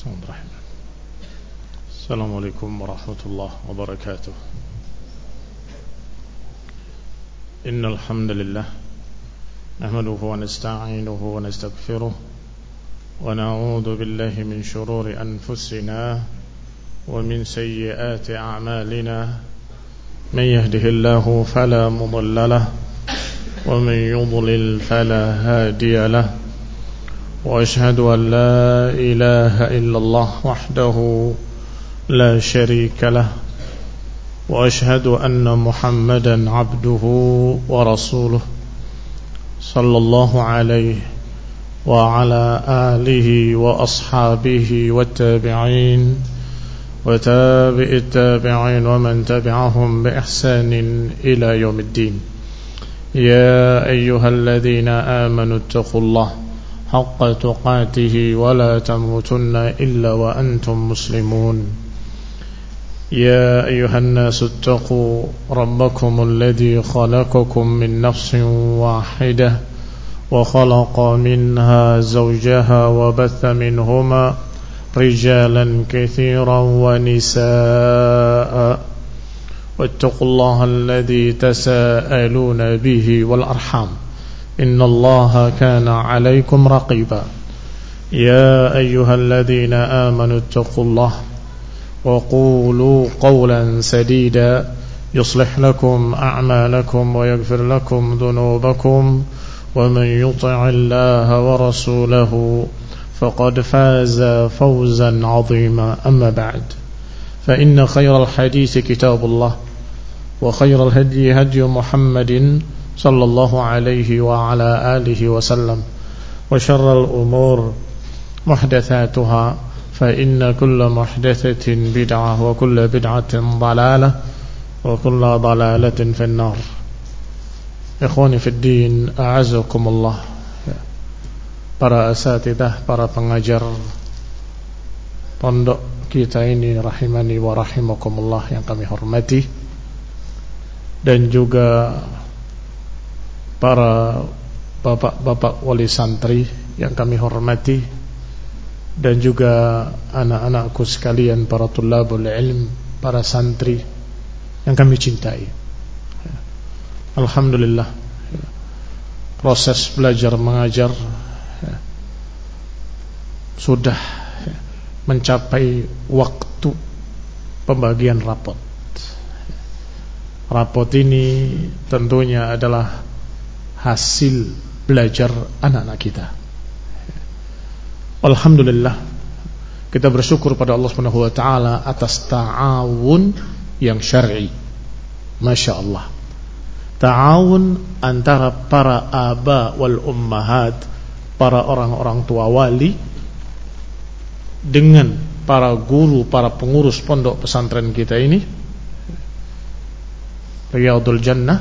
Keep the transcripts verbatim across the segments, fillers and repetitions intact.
Bismillahirrahmanirrahim. Assalamualaikum warahmatullahi wabarakatuh. Innal hamdalillah nahmaduhu wa nasta'inuhu wa nastaghfiruh wa na'udzu billahi min shururi anfusina wa min sayyiati a'malina. Man yahdihillahu fala mudilla lahu wa man yudlil fala hadiya lahu. وأشهد أن لا إله إلا الله وحده لا شريك له وأشهد أن محمدا عبده ورسوله صلى الله عليه وعلى آله وأصحابه والتابعين وتابع التابعين ومن تبعهم بإحسان إلى يوم الدين. يا أيها الذين آمنوا اتقوا الله حق تقاته ولا تموتن إلا وأنتم مسلمون. يا أيها الناس اتقوا ربكم الذي خلقكم من نفس واحدة وخلق منها زوجها وبث منهما رجالا كثيرا ونساء واتقوا الله الذي تساءلون به والأرحام إن الله كان عليكم رقيبا. يا أيها الذين آمنوا اتقوا الله وقولوا قولا سديدا يصلح لكم أعمالكم ويغفر لكم ذنوبكم ومن يطع الله ورسوله فقد فاز فوزا عظيما. أما بعد فإن خير الحديث كتاب الله وخير الهدي هدي محمد صلى الله عليه وعلى آله وسلم وشر الأمور محدثاتها فإن كل محدثة بدعة وكل بدعة ضلالة وكل ضلالة في النار. إخواني في الدين أعزكم الله. Para asatidah, para pengajar pondok kita ini rahimani wa rahimakumullah yang kami hormati, dan juga para bapak-bapak wali santri yang kami hormati, dan juga anak-anakku sekalian, para tulabul ilm, para santri yang kami cintai. Alhamdulillah, proses belajar mengajar sudah mencapai waktu pembagian rapot. Rapot ini tentunya adalah hasil belajar anak-anak kita. Alhamdulillah, kita bersyukur pada Allah Subhanahu wa taala atas ta'awun yang syar'i. Masya Allah, ta'awun antara para aba wal ummahat, para orang-orang tua wali, dengan para guru, para pengurus pondok pesantren kita ini, Riyadul Jannah,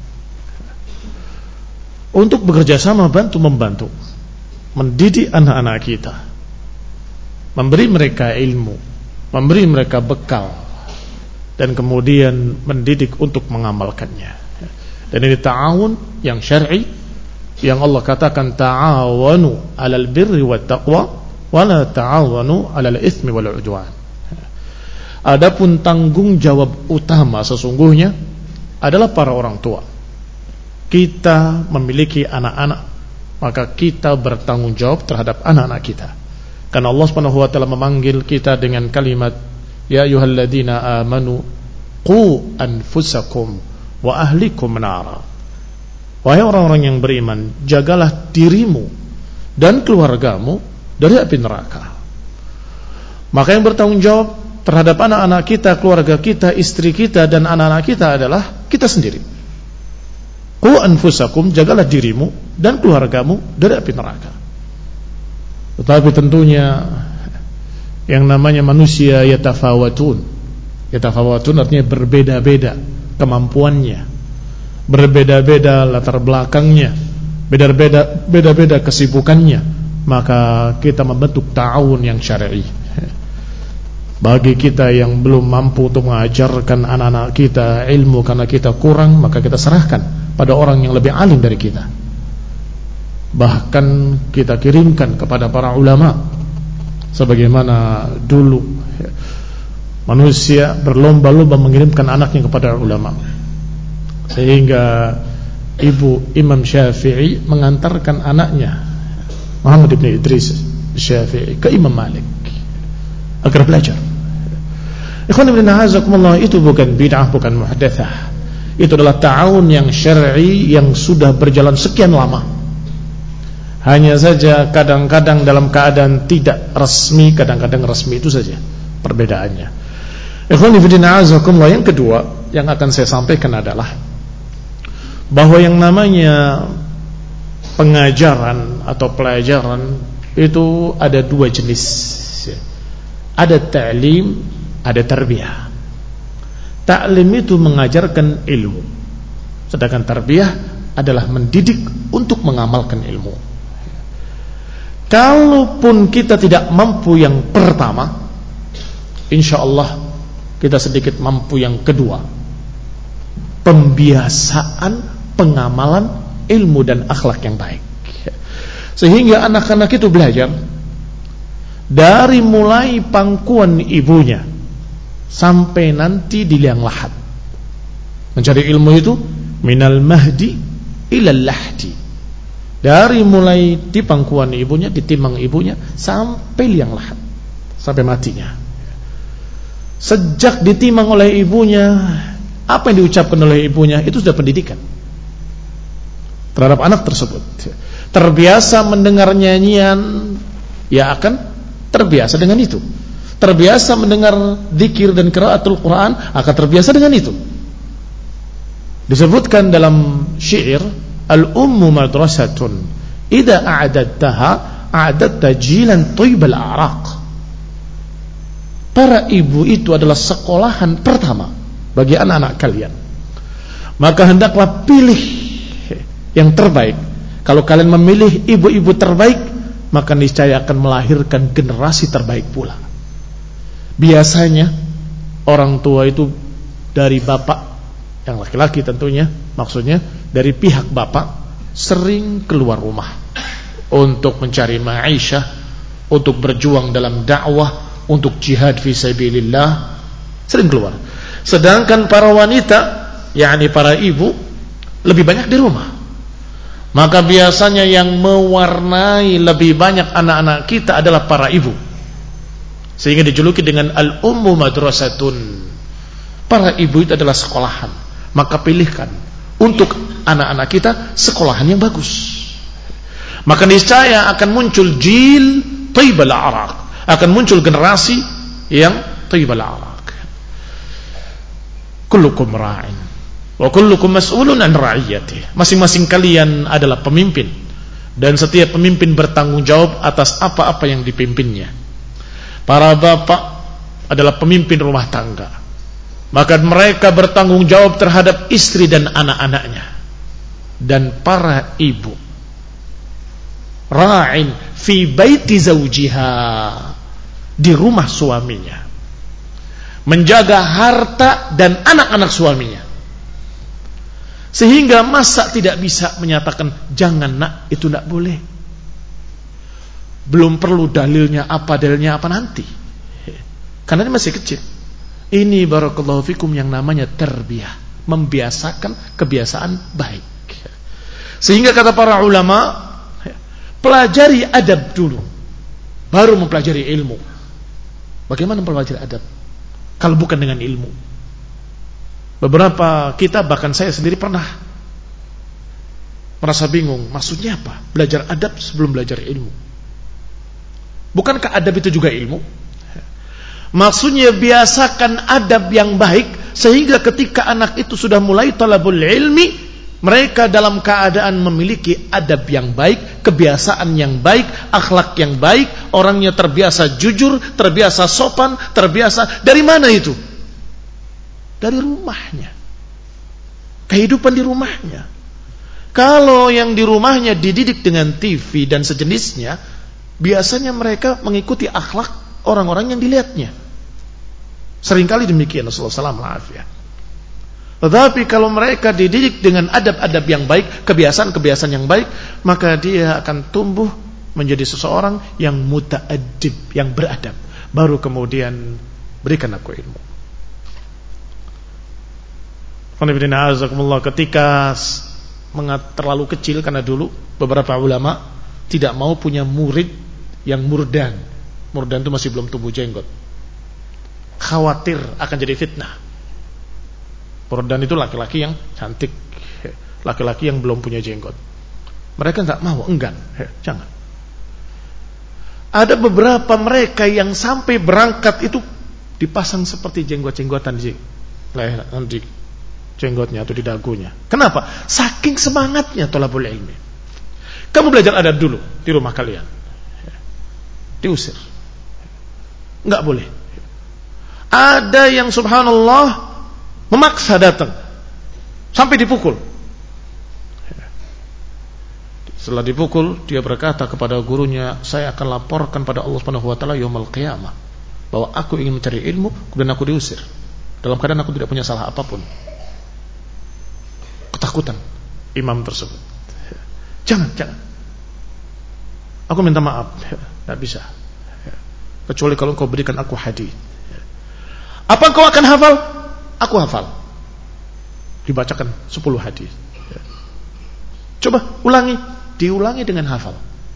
untuk bekerja sama, bantu membantu mendidik anak-anak kita, memberi mereka ilmu, memberi mereka bekal, dan kemudian mendidik untuk mengamalkannya. Dan ini ta'awun yang syar'i, yang Allah katakan ta'awanu 'alal birri wat taqwa wa la ta'awanu 'alal itsmi wal 'udwan. Adapun tanggung jawab utama sesungguhnya adalah para orang tua. Kita memiliki anak-anak, maka kita bertanggung jawab terhadap anak-anak kita. Karena Allah Subhanahu wa taala memanggil kita dengan kalimat ya ayyuhalladzina amanu qu anfusakum wa ahlikum nara. Wahai orang-orang yang beriman, jagalah dirimu dan keluargamu dari api neraka. Maka yang bertanggung jawab terhadap anak-anak kita, keluarga kita, istri kita, dan anak-anak kita adalah kita sendiri. Qu anfusakum, jagalah dirimu dan keluargamu dari api neraka. Tetapi tentunya yang namanya manusia yatafawatun. Yatafawatun artinya berbeda-beda kemampuannya, berbeda-beda latar belakangnya, beda-beda beda-beda kesibukannya. Maka kita membentuk ta'awun yang syar'i. Bagi kita yang belum mampu untuk mengajarkan anak-anak kita ilmu karena kita kurang, maka kita serahkan pada orang yang lebih alim dari kita. Bahkan kita kirimkan kepada para ulama sebagaimana dulu manusia berlomba-lomba mengirimkan anaknya kepada ulama, sehingga ibu Imam Syafi'i mengantarkan anaknya Muhammad ibn Idris Syafi'i ke Imam Malik agar belajar. Ikhwan ibn a'azakumullah, itu bukan bid'ah, bukan muhdatsah. Itu adalah ta'awun yang syar'i yang sudah berjalan sekian lama. Hanya saja kadang-kadang dalam keadaan tidak resmi, kadang-kadang resmi, itu saja perbedaannya. Ikhwan ibn a'azakumullah, yang kedua yang akan saya sampaikan adalah bahwa yang namanya pengajaran atau pelajaran itu ada dua jenis. Ada ta'lim, ada tarbiyah. Ta'lim itu mengajarkan ilmu, sedangkan tarbiyah adalah mendidik untuk mengamalkan ilmu. Kalaupun kita tidak mampu yang pertama, insyaallah kita sedikit mampu yang kedua, pembiasaan pengamalan ilmu dan akhlak yang baik, sehingga anak-anak itu belajar dari mulai pangkuan ibunya sampai nanti di liang lahat. Mencari ilmu itu minal mahdi ilal lahdi, dari mulai di pangkuan ibunya, di timang ibunya sampai liang lahat, sampai matinya. Sejak ditimang oleh ibunya, apa yang diucapkan oleh ibunya itu sudah pendidikan terhadap anak tersebut. Terbiasa mendengar nyanyian, ya akan terbiasa dengan itu. Terbiasa mendengar zikir dan qiraatul Quran, akan terbiasa dengan itu. Disebutkan dalam syair, al-ummu madrasatun idza a'dadtaha a'dadta jilan thayyibal a'raq. Para ibu itu adalah sekolahan pertama bagi anak-anak kalian. Maka hendaklah pilih yang terbaik. Kalau kalian memilih ibu-ibu terbaik, maka niscaya akan melahirkan generasi terbaik pula. Biasanya orang tua itu dari bapak, yang laki-laki tentunya, maksudnya dari pihak bapak, sering keluar rumah untuk mencari ma'isyah, untuk berjuang dalam dakwah, untuk jihad fi sabilillah, sering keluar. Sedangkan para wanita, yakni para ibu, lebih banyak di rumah. Maka biasanya yang mewarnai lebih banyak anak-anak kita adalah para ibu, sehingga dijuluki dengan al-ummu madrasatun. Para ibu itu adalah sekolahan. Maka pilihkan untuk anak-anak kita sekolahan yang bagus. Maka niscaya akan muncul jil thayyibal a'raq, akan muncul generasi yang thayyibal a'raq. Kullukum ra'in wa kullukum mas'ulun an ra'iyatihi. Masing-masing kalian adalah pemimpin, dan setiap pemimpin bertanggung jawab atas apa-apa yang dipimpinnya. Para bapak adalah pemimpin rumah tangga, maka mereka bertanggung jawab terhadap istri dan anak-anaknya. Dan para ibu ra'in fi baiti zawjiha, di rumah suaminya, menjaga harta dan anak-anak suaminya. Sehingga masa tidak bisa menyatakan jangan nak, itu tidak boleh. Belum perlu dalilnya apa, dalilnya apa nanti, karena ini masih kecil. Ini barakallahu fikum yang namanya tarbiyah, membiasakan kebiasaan baik. Sehingga kata para ulama, pelajari adab dulu, baru mempelajari ilmu. Bagaimana mempelajari adab kalau bukan dengan ilmu? Beberapa kita, bahkan saya sendiri pernah merasa bingung, maksudnya apa belajar adab sebelum belajar ilmu? Bukankah adab itu juga ilmu? Maksudnya biasakan adab yang baik, sehingga ketika anak itu sudah mulai talabul ilmi, mereka dalam keadaan memiliki adab yang baik, kebiasaan yang baik, akhlak yang baik, orangnya terbiasa jujur, terbiasa sopan, terbiasa. Dari mana itu? Dari rumahnya, kehidupan di rumahnya. Kalau yang di rumahnya dididik dengan T V dan sejenisnya, biasanya mereka mengikuti akhlak orang-orang yang dilihatnya. Seringkali demikian, Rasulullah shallallahu alaihi wasallam. Tetapi kalau mereka dididik dengan adab-adab yang baik, kebiasaan-kebiasaan yang baik, maka dia akan tumbuh menjadi seseorang yang muta'addib, yang beradab, baru kemudian berikan aku ilmu. Ketika terlalu kecil, karena dulu beberapa ulama tidak mau punya murid yang murdan. Murdan itu masih belum tumbuh jenggot, khawatir akan jadi fitnah. Murdan itu laki-laki yang cantik, laki-laki yang belum punya jenggot. Mereka nggak mau, enggan, jangan. Ada beberapa mereka yang sampai berangkat itu dipasang seperti jenggot-jenggotan di leher, di jenggotnya atau di dagunya. Kenapa? Saking semangatnya thalabul ilmi. Kamu belajar adab dulu di rumah kalian. Diusir. Enggak boleh. Ada yang subhanallah memaksa datang sampai dipukul. Setelah dipukul, dia berkata kepada gurunya, saya akan laporkan pada Allah Subhanahu wa taala yaumul qiyamah bahwa aku ingin mencari ilmu dan aku diusir dalam keadaan aku tidak punya salah apapun. Ketakutan imam tersebut. Jangan, jangan. Aku minta maaf, tidak bisa. Kecuali kalau engkau berikan aku hadis. Apa engkau akan hafal? Aku hafal. Dibacakan sepuluh hadis. Coba ulangi, diulangi dengan hafal.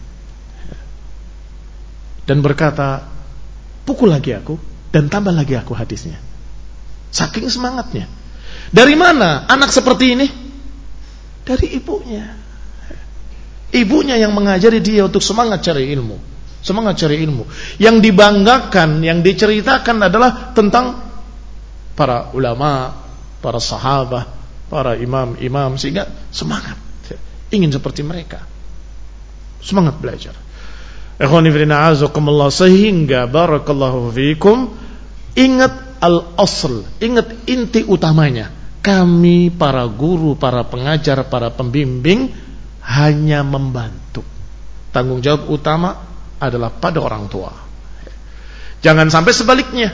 Dan berkata, pukul lagi aku dan tambah lagi aku hadisnya. Saking semangatnya. Dari mana anak seperti ini? Dari ibunya. Ibunya yang mengajari dia untuk semangat cari ilmu. Semangat cari ilmu. Yang dibanggakan, yang diceritakan adalah tentang para ulama, para sahabat, para imam-imam, sehingga semangat ingin seperti mereka. Semangat belajar. Ikhwani fillah azakumullah, sehingga barakallahu fikum, ingat al-asl, ingat inti utamanya. Kami para guru, para pengajar, para pembimbing hanya membantu. Tanggung jawab utama adalah pada orang tua. Jangan sampai sebaliknya,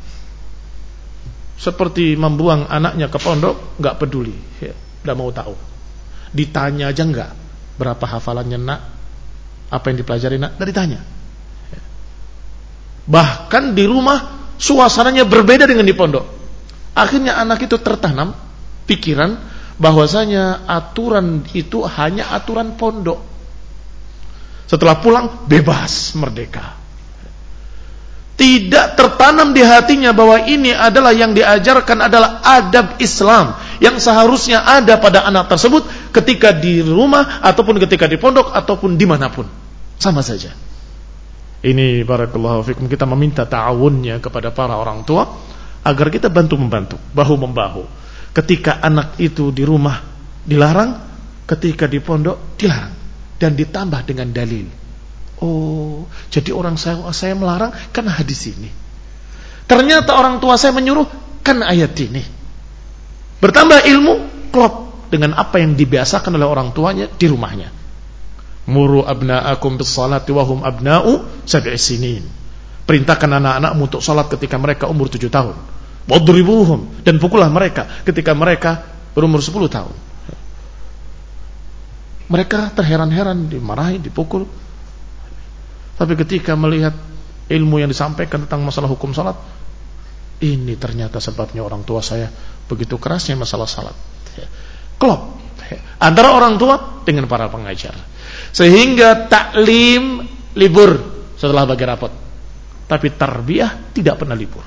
seperti membuang anaknya ke pondok, nggak peduli, nggak mau tahu. Ditanya aja nggak, berapa hafalannya nak, apa yang dipelajari nak, nggak ditanya. Bahkan di rumah suasananya berbeda dengan di pondok. Akhirnya anak itu tertanam pikiran bahwasanya aturan itu hanya aturan pondok. Setelah pulang bebas, merdeka. Tidak tertanam di hatinya bahwa ini adalah yang diajarkan adalah adab Islam yang seharusnya ada pada anak tersebut ketika di rumah ataupun ketika di pondok ataupun dimanapun, sama saja. Ini barakallahu fikum, kita meminta ta'awunnya kepada para orang tua agar kita bantu-membantu, bahu-membahu. Ketika anak itu di rumah dilarang, ketika di pondok dilarang, dan ditambah dengan dalil. Oh, jadi orang saya, saya melarang karena hadis ini. Ternyata orang tua saya menyuruh karena ayat ini. Bertambah ilmu, klop dengan apa yang dibiasakan oleh orang tuanya di rumahnya. Muru abna'akum bis salati wa hum abna'u sab'i sinin. Perintahkan anak-anakmu untuk salat ketika mereka umur tujuh tahun. Wadribuhum, dan pukullah mereka ketika mereka berumur sepuluh tahun. Mereka terheran-heran, dimarahi, dipukul. Tapi ketika melihat ilmu yang disampaikan tentang masalah hukum salat, ini ternyata sebabnya orang tua saya begitu kerasnya masalah salat. Klop antara orang tua dengan para pengajar, sehingga taklim libur setelah bagi rapot, tapi tarbiyah tidak pernah libur.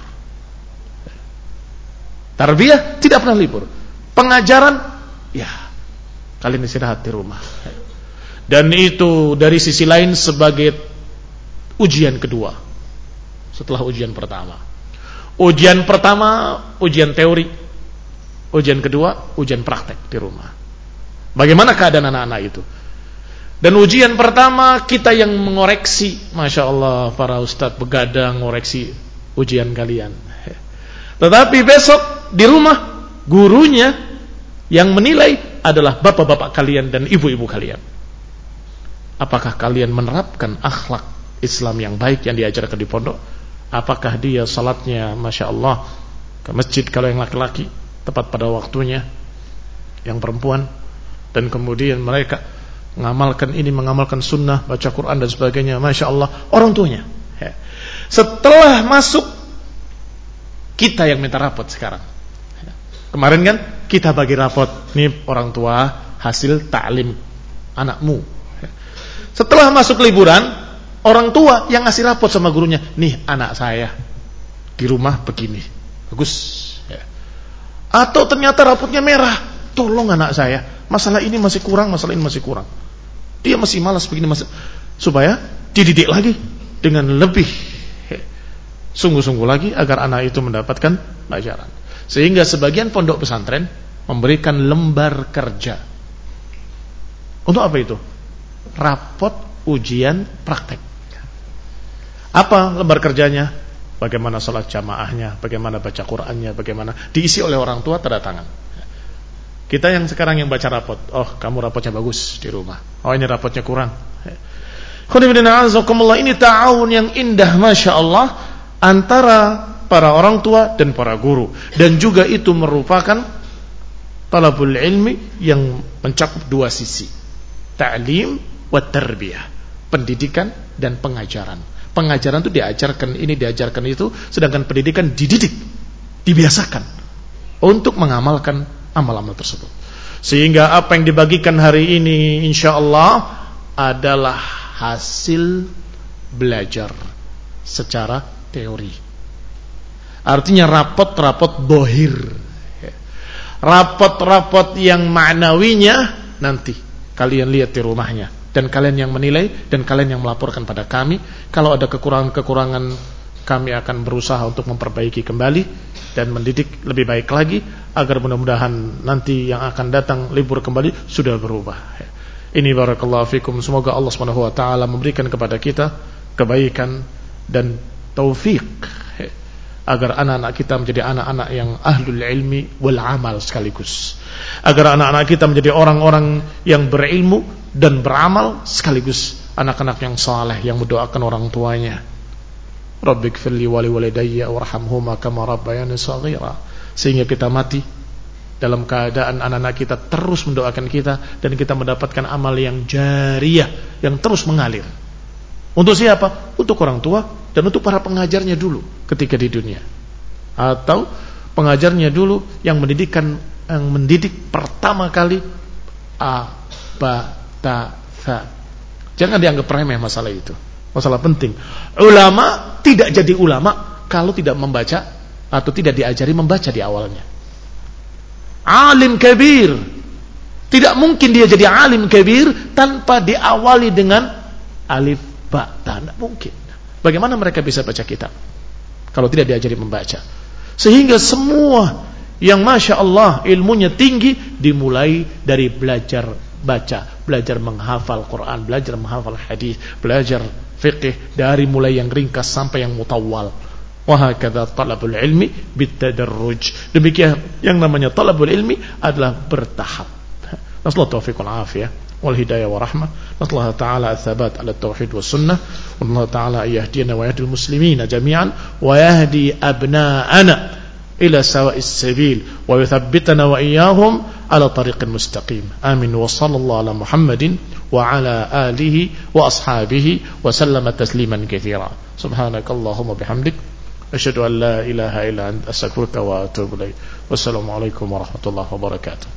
Tarbiyah tidak pernah libur. Pengajaran, ya kalian istirahat di rumah. Dan itu dari sisi lain sebagai ujian kedua setelah ujian pertama. Ujian pertama ujian teori, ujian kedua ujian praktek di rumah. Bagaimana keadaan anak-anak itu? Dan ujian pertama kita yang mengoreksi, masya Allah, para ustadz begadang ngoreksi ujian kalian. Tetapi besok di rumah gurunya yang menilai adalah bapak-bapak kalian dan ibu-ibu kalian. Apakah kalian menerapkan akhlak Islam yang baik yang diajarkan di pondok? Apakah dia salatnya masya Allah ke masjid kalau yang laki-laki tepat pada waktunya, yang perempuan, dan kemudian mereka mengamalkan ini, mengamalkan sunnah, baca Quran dan sebagainya, Masya Allah, orang tuanya. Setelah masuk, kita yang minta rapot sekarang. Kemarin kan kita bagi rapot, nih orang tua hasil ta'lim anakmu. Setelah masuk liburan, orang tua yang ngasih rapot sama gurunya, nih anak saya di rumah begini, bagus. Atau ternyata rapotnya merah, tolong anak saya, masalah ini masih kurang, masalah ini masih kurang, dia masih malas begini, masih, supaya dididik lagi dengan lebih sungguh-sungguh lagi agar anak itu mendapatkan pelajaran. Sehingga sebagian pondok pesantren memberikan lembar kerja. Untuk apa itu? Rapot ujian praktek. Apa lembar kerjanya? Bagaimana sholat jamaahnya, bagaimana baca Qur'annya, bagaimana diisi oleh orang tua, tanda tangan. Kita yang sekarang yang baca rapot, oh kamu rapotnya bagus di rumah, oh ini rapotnya kurang. Ini ta'awun yang indah, Masya Allah, antara para orang tua dan para guru. Dan juga itu merupakan talabul ilmi yang mencakup dua sisi, ta'lim wa tarbiyah, pendidikan dan pengajaran. Pengajaran itu diajarkan ini, diajarkan itu, sedangkan pendidikan dididik, dibiasakan untuk mengamalkan amal-amal tersebut. Sehingga apa yang dibagikan hari ini insyaallah adalah hasil belajar secara teori. Artinya rapot-rapot bohir, rapot-rapot yang maknawinya nanti kalian lihat di rumahnya, dan kalian yang menilai, dan kalian yang melaporkan pada kami. Kalau ada kekurangan-kekurangan, kami akan berusaha untuk memperbaiki kembali dan mendidik lebih baik lagi, agar mudah-mudahan nanti yang akan datang libur kembali sudah berubah. Ini barakallahu fikum. Semoga Allah Subhanahu wa taala memberikan kepada kita kebaikan dan taufik agar anak-anak kita menjadi anak-anak yang ahlul ilmi wal amal sekaligus, agar anak-anak kita menjadi orang-orang yang berilmu dan beramal sekaligus, anak-anak yang saleh yang mendoakan orang tuanya. Rabbighfirli wa liwalidayya warhamhuma kama rabbayani shaghira. Sehingga kita mati dalam keadaan anak-anak kita terus mendoakan kita, dan kita mendapatkan amal yang jariyah yang terus mengalir. Untuk siapa? Untuk orang tua dan untuk para pengajarnya dulu ketika di dunia, atau pengajarnya dulu yang mendidikkan, yang mendidik pertama kali a ba ta tha. Jangan dianggap remeh masalah itu, masalah penting. Ulama tidak jadi ulama kalau tidak membaca atau tidak diajari membaca di awalnya. Alim kabir, tidak mungkin dia jadi alim kabir tanpa diawali dengan alif ba ta, tidak mungkin. Bagaimana mereka bisa baca kitab kalau tidak diajari membaca? Sehingga semua yang Masya Allah ilmunya tinggi dimulai dari belajar baca, belajar menghafal Quran, belajar menghafal hadis, belajar fiqh, dari mulai yang ringkas sampai yang mutawwal. Wa hakadha talabul ilmi bitadarruj. Demikian yang namanya talabul ilmi adalah bertahap. Nasallahu taufiq wal afiyah wal hidayah wa rahmah. Nasallahu ta'ala atsabat ala tauhid was sunnah. Wallahu ta'ala yahdina wa yahdil muslimina jami'an wa yahdi abna'ana ila sawa'is sabil wa yuthabbitana wa iyyahum ala tariqil mustaqim. Amin. Wa sallallahu ala Muhammadin wa ala alihi wa ashabihi wa sallama tasliman katsira. Subhanakallahumma bihamdik asyhadu an la ilaha illa anta astaghfiruka wa atubu ilaik. Wassalamu alaikum warahmatullahi wabarakatuh.